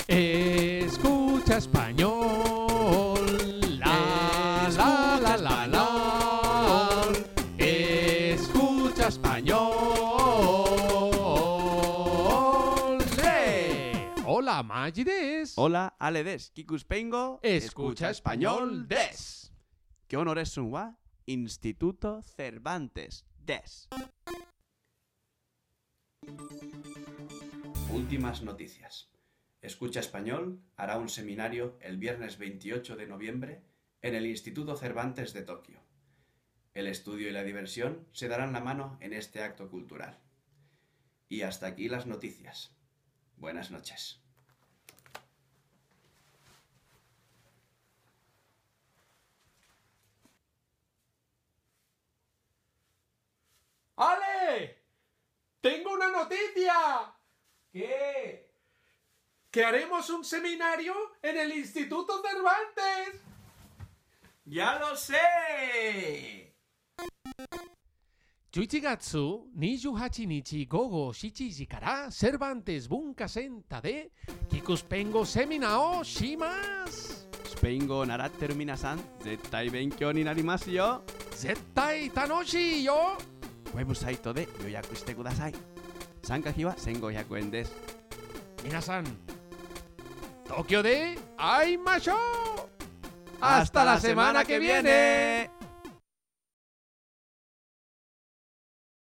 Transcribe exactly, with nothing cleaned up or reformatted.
Escucha español. La, la, la, la, la. Escucha español. ¡Le! Hola, Maggi des. Hola, Ale des. Kikuspengo. Escucha español des. ¿Qué honor es un wa? Instituto Cervantes des. Últimas noticias. Escucha Español hará un seminario el viernes veintiocho de noviembre en el Instituto Cervantes de Tokio. El estudio y la diversión se darán la mano en este acto cultural. Y hasta aquí las noticias. Buenas noches. ¡Ale! ¡Tengo una noticia! ¿Qué? ¡Que haremos un seminario en el Instituto Cervantes! ¡Ya lo sé! じゅういちがつにじゅうはちにち午後しちじからセルバンテス文化センターでキクスペン語セミナーをします。 スペイン語を習ってる皆さん、絶対勉強になりますよ。 絶対楽しいよ。 ウェブサイトで予約してください。参加費はせんごひゃくえんです。 皆さん、東京で会いましょう。Hasta la semana que viene.